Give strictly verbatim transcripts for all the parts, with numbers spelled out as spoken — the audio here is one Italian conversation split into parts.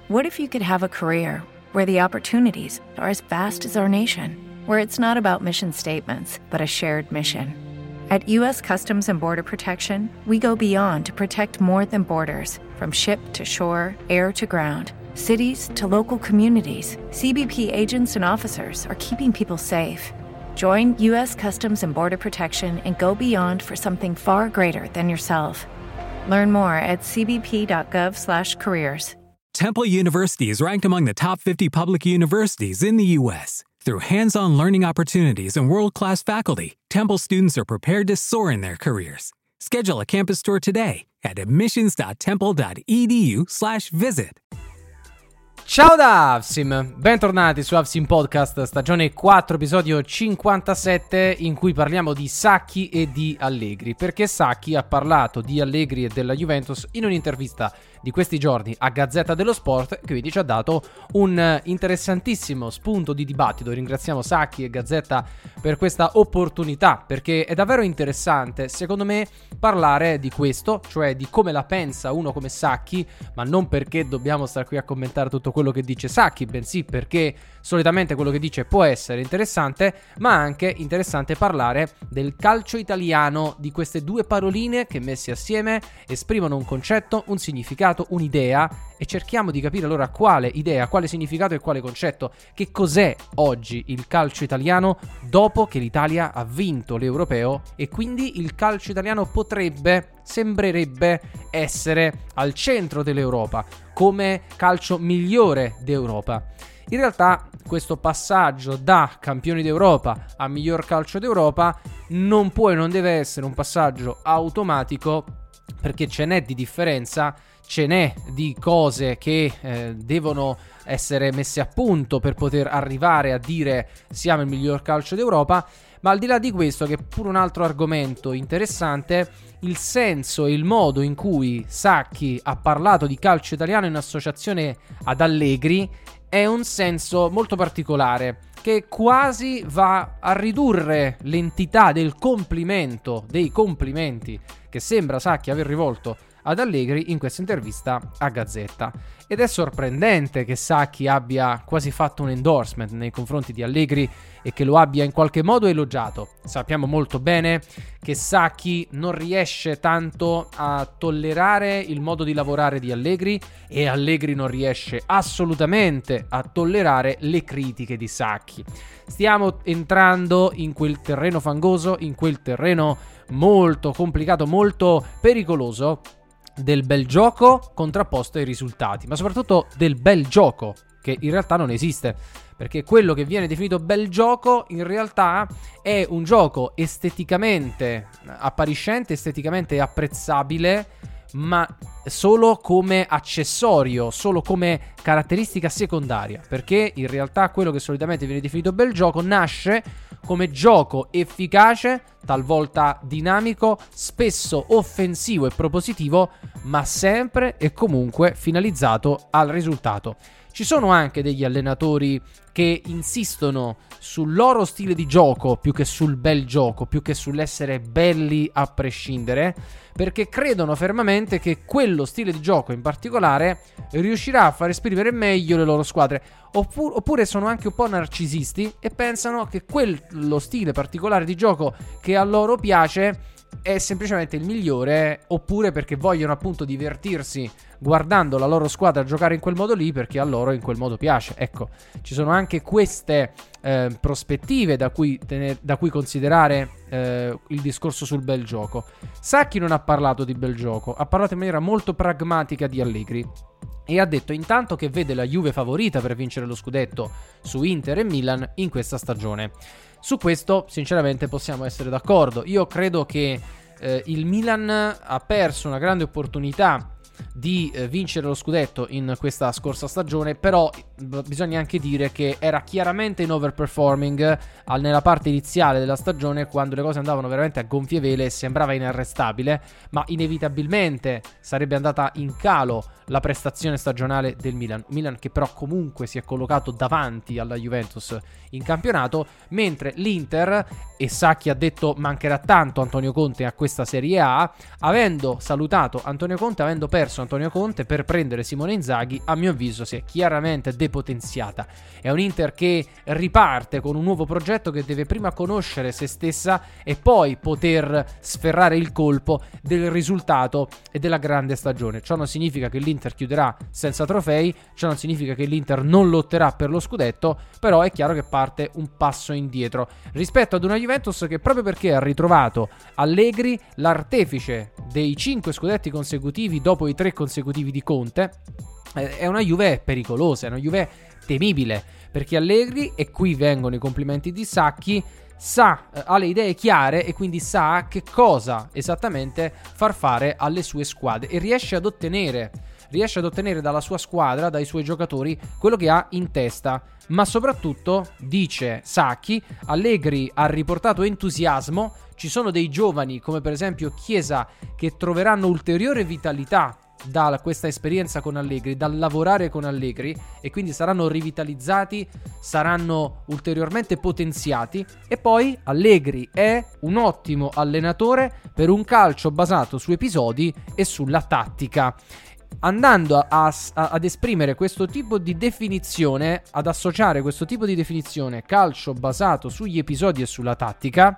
What if you could have a career where the opportunities are as vast as our nation, where it's not about mission statements, but a shared mission? At U S Customs and Border Protection, we go beyond to protect more than borders. From ship to shore, air to ground, cities to local communities, C B P agents and officers are keeping people safe. Join U S Customs and Border Protection and go beyond for something far greater than yourself. Learn more at c b p dot gov slash careers. Temple University is ranked among the top fifty public universities in the U S Through hands-on learning opportunities and world-class faculty, Temple students are prepared to soar in their careers. Schedule a campus tour today at admissions dot temple dot e d u slash visit. Ciao da Avsim, bentornati su Avsim Podcast, stagione quattro, episodio cinquantasette, in cui parliamo di Sacchi e di Allegri, perché Sacchi ha parlato di Allegri e della Juventus in un'intervista di questi giorni a Gazzetta dello Sport, che quindi ci ha dato un interessantissimo spunto di dibattito. Ringraziamo Sacchi e Gazzetta per questa opportunità, perché è davvero interessante, secondo me, parlare di questo, cioè di come la pensa uno come Sacchi, ma non perché dobbiamo stare qui a commentare tutto quello che dice Sacchi, bensì perché solitamente quello che dice può essere interessante, ma anche interessante parlare del calcio italiano, di queste due paroline che messe assieme esprimono un concetto, un significato, un'idea, e cerchiamo di capire allora quale idea, quale significato e quale concetto, che cos'è oggi il calcio italiano dopo che l'Italia ha vinto l'Europeo, e quindi il calcio italiano potrebbe, sembrerebbe essere al centro dell'Europa, come calcio migliore d'Europa. In realtà questo passaggio da campioni d'Europa a miglior calcio d'Europa non può e non deve essere un passaggio automatico, perché ce n'è di differenza, ce n'è di cose che eh, devono essere messe a punto per poter arrivare a dire siamo il miglior calcio d'Europa. Ma al di là di questo, che è pure un altro argomento interessante, il senso e il modo in cui Sacchi ha parlato di calcio italiano in associazione ad Allegri è un senso molto particolare, che quasi va a ridurre l'entità del complimento, dei complimenti che sembra Sacchi aver rivolto ad Allegri in questa intervista a Gazzetta. Ed è sorprendente che Sacchi abbia quasi fatto un endorsement nei confronti di Allegri e che lo abbia in qualche modo elogiato. Sappiamo molto bene che Sacchi non riesce tanto a tollerare il modo di lavorare di Allegri, e Allegri non riesce assolutamente a tollerare le critiche di Sacchi. Stiamo entrando in quel terreno fangoso, in quel terreno molto complicato, molto pericoloso, del bel gioco contrapposto ai risultati, ma soprattutto del bel gioco, che in realtà non esiste, perché quello che viene definito bel gioco in realtà è un gioco esteticamente appariscente, esteticamente apprezzabile, ma solo come accessorio, solo come caratteristica secondaria, perché in realtà quello che solitamente viene definito bel gioco nasce come gioco efficace, talvolta dinamico, spesso offensivo e propositivo, ma sempre e comunque finalizzato al risultato. Ci sono anche degli allenatori che insistono sul loro stile di gioco più che sul bel gioco, più che sull'essere belli a prescindere, perché credono fermamente che quello stile di gioco in particolare riuscirà a far esprimere meglio le loro squadre. Oppure, oppure sono anche un po' narcisisti e pensano che quello stile particolare di gioco che a loro piace è semplicemente il migliore, oppure perché vogliono appunto divertirsi guardando la loro squadra giocare in quel modo lì, perché a loro in quel modo piace. Ecco, ci sono anche queste eh, prospettive da cui, tener, da cui considerare eh, il discorso sul bel gioco. Sacchi non ha parlato di bel gioco, ha parlato in maniera molto pragmatica di Allegri e ha detto intanto che vede la Juve favorita per vincere lo scudetto su Inter e Milan in questa stagione. Su questo sinceramente possiamo essere d'accordo. Io credo che eh, il Milan ha perso una grande opportunità di eh, vincere lo scudetto in questa scorsa stagione, però b- bisogna anche dire che era chiaramente in overperforming al, nella parte iniziale della stagione, quando le cose andavano veramente a gonfie vele e sembrava inarrestabile, ma inevitabilmente sarebbe andata in calo la prestazione stagionale del Milan. Milan che però comunque si è collocato davanti alla Juventus in campionato, mentre l'Inter, e Sacchi ha detto mancherà tanto Antonio Conte a questa Serie A, avendo salutato Antonio Conte, avendo perso perso Antonio Conte per prendere Simone Inzaghi, a mio avviso si è chiaramente depotenziata. È un Inter che riparte con un nuovo progetto che deve prima conoscere se stessa e poi poter sferrare il colpo del risultato e della grande stagione. Ciò non significa che l'Inter chiuderà senza trofei, ciò non significa che l'Inter non lotterà per lo scudetto, però è chiaro che parte un passo indietro rispetto ad una Juventus che, proprio perché ha ritrovato Allegri, l'artefice dei cinque scudetti consecutivi dopo i tre consecutivi di Conte, è una Juve pericolosa, è una Juve temibile, perché Allegri, e qui vengono i complimenti di Sacchi, sa, ha le idee chiare e quindi sa che cosa esattamente far fare alle sue squadre e riesce ad ottenere riesce ad ottenere dalla sua squadra, dai suoi giocatori, quello che ha in testa. Ma soprattutto, dice Sacchi, Allegri ha riportato entusiasmo, ci sono dei giovani come per esempio Chiesa che troveranno ulteriore vitalità da questa esperienza con Allegri, dal lavorare con Allegri, e quindi saranno rivitalizzati, saranno ulteriormente potenziati. E poi Allegri è un ottimo allenatore per un calcio basato su episodi e sulla tattica. Andando a, a, ad esprimere questo tipo di definizione, ad associare questo tipo di definizione, calcio basato sugli episodi e sulla tattica,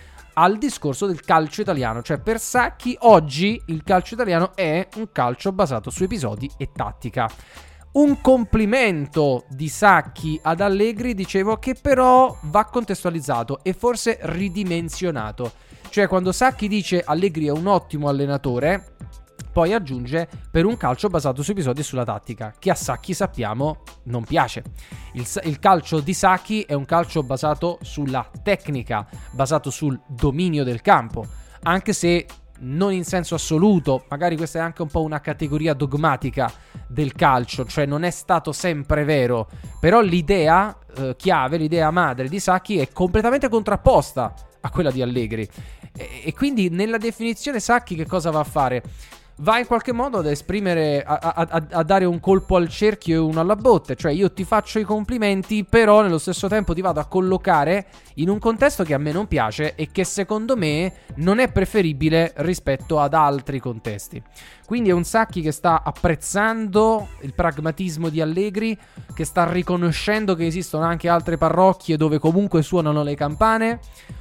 al discorso del calcio italiano. Cioè, per Sacchi oggi il calcio italiano è un calcio basato su episodi e tattica. Un complimento di Sacchi ad Allegri, dicevo, che però va contestualizzato e forse ridimensionato. Cioè, quando Sacchi dice Allegri è un ottimo allenatore, poi aggiunge per un calcio basato su episodi e sulla tattica, che a Sacchi sappiamo non piace. Il, il calcio di Sacchi è un calcio basato sulla tecnica, basato sul dominio del campo, anche se non in senso assoluto, magari questa è anche un po' una categoria dogmatica del calcio, cioè non è stato sempre vero, però l'idea eh, chiave, l'idea madre di Sacchi è completamente contrapposta a quella di Allegri. E, e quindi nella definizione Sacchi che cosa va a fare? Va in qualche modo ad esprimere, a, a, a dare un colpo al cerchio e uno alla botte. Cioè, io ti faccio i complimenti, però nello stesso tempo ti vado a collocare in un contesto che a me non piace e che secondo me non è preferibile rispetto ad altri contesti. Quindi è un Sacchi che sta apprezzando il pragmatismo di Allegri, che sta riconoscendo che esistono anche altre parrocchie dove comunque suonano le campane.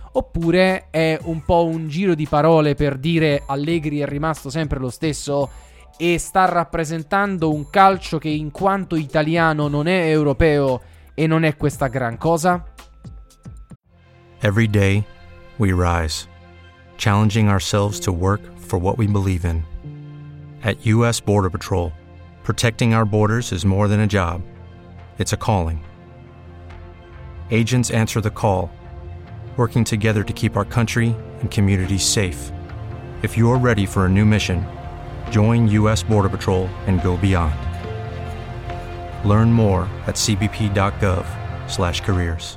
Oppure è un po' un giro di parole per dire Allegri è rimasto sempre lo stesso e sta rappresentando un calcio che in quanto italiano non è europeo e non è questa gran cosa? Every day we rise, challenging ourselves to work for what we believe in. At U S Border Patrol, protecting our borders is more than a job. It's a calling. Agents answer the call, working together to keep our country and communities safe. If you are ready for a new mission, join U S Border Patrol and go beyond. Learn more at c b p dot gov slash careers.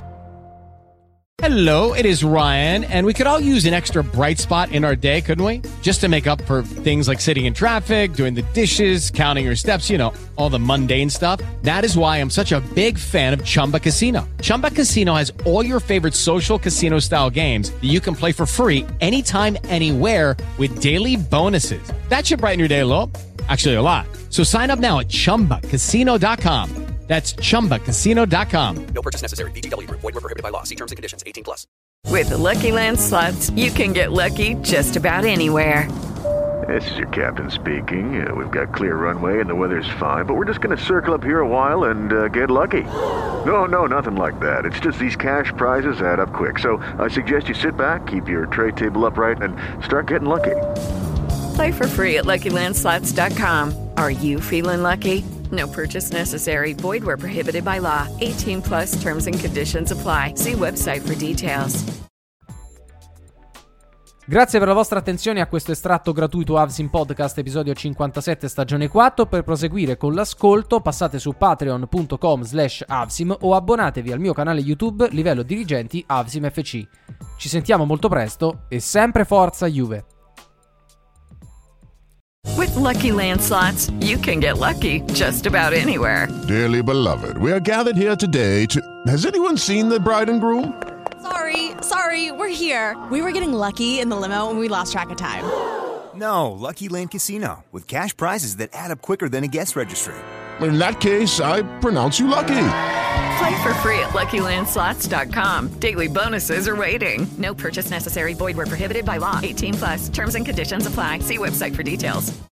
Hello, it is Ryan, and we could all use an extra bright spot in our day, couldn't we? Just to make up for things like sitting in traffic, doing the dishes, counting your steps, you know, all the mundane stuff. That is why I'm such a big fan of Chumba Casino. Chumba Casino has all your favorite social casino-style games that you can play for free anytime, anywhere with daily bonuses. That should brighten your day a little. Actually, a lot. So sign up now at chumba casino dot com. That's chumba casino dot com. No purchase necessary. V G W Group. Void where prohibited by law. See terms and conditions. eighteen plus. With the Lucky Land Slots, you can get lucky just about anywhere. This is your captain speaking. Uh, we've got clear runway and the weather's fine, but we're just going to circle up here a while and uh, get lucky. No, no, nothing like that. It's just these cash prizes add up quick. So I suggest you sit back, keep your tray table upright, and start getting lucky. Play for free at lucky land slots dot com. Are you feeling lucky? No purchase necessary. Void where prohibited by law. eighteen plus terms and conditions apply. See website for details. Grazie per la vostra attenzione a questo estratto gratuito Avsim Podcast episodio cinquantasette stagione quattro. Per proseguire con l'ascolto passate su patreon punto com slash avsim o abbonatevi al mio canale YouTube livello dirigenti Avsim F C. Ci sentiamo molto presto e sempre forza Juve! With Lucky Land Slots, you can get lucky just about anywhere. Dearly beloved, we are gathered here today to... Has anyone seen the bride and groom? Sorry, sorry, we're here. We were getting lucky in the limo and we lost track of time. No, Lucky Land Casino, with cash prizes that add up quicker than a guest registry. In that case, I pronounce you lucky. Play for free at Lucky Land Slots dot com. Daily bonuses are waiting. No purchase necessary. Void where prohibited by law. eighteen plus. Terms and conditions apply. See website for details.